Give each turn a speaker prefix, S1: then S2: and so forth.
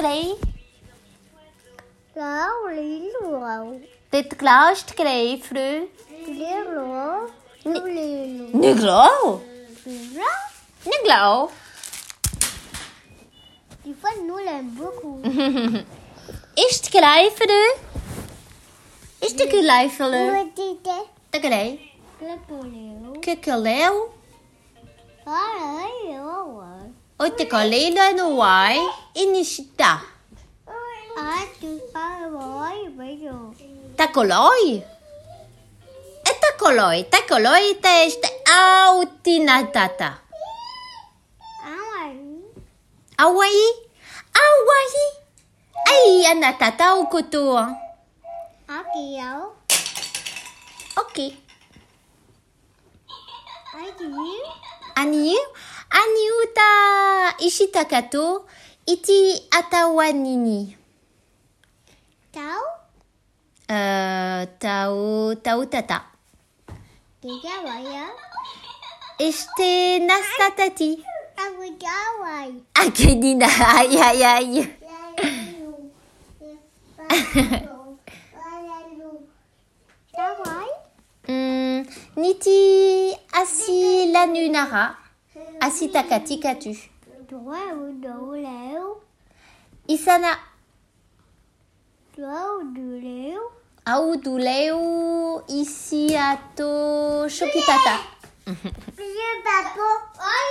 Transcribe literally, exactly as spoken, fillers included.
S1: klei?
S2: Lão lý lùa.
S1: Dit klaust klei fru.
S2: Lý lùa. Lý lùa.
S1: Nuglo.
S2: Lý
S1: Nuglo.
S2: Des fois, nous l'aimons beaucoup.
S1: Ist klei fru? Ist de klei fru?
S2: Petite.
S1: De klei.
S2: Le poulet.
S1: Kukuleu.
S2: Ah, oui, oui.
S1: O te kalele no wai. Inishita.
S2: Ah, tu parles, oui, oui.
S1: Takoloi. E takoloi. Takoloi te este autinatata.
S2: Ah, oui.
S1: Hawaii. Hawaii. Ai, anatata o kotoa.
S2: Ah, kiểu.
S1: Ok.
S2: Ah, tu
S1: Aniu. Aniu ta ishitakato. Iti atawanini.
S2: Cháu.
S1: Uh, tau, tau tata.
S2: Thì cháu vậy á.
S1: Este nastatati.
S2: Tao với cháu vậy.
S1: Akenina. Ai, ai, ai.
S2: Cháu vậy.
S1: Mm, niti asi lanunara. Asi takati katu.
S2: Chúa đủ liễu.
S1: Isana.
S2: Chúa đủ liễu.
S1: Au duleu isi ato shokitata.
S2: Bây giờ bà cô.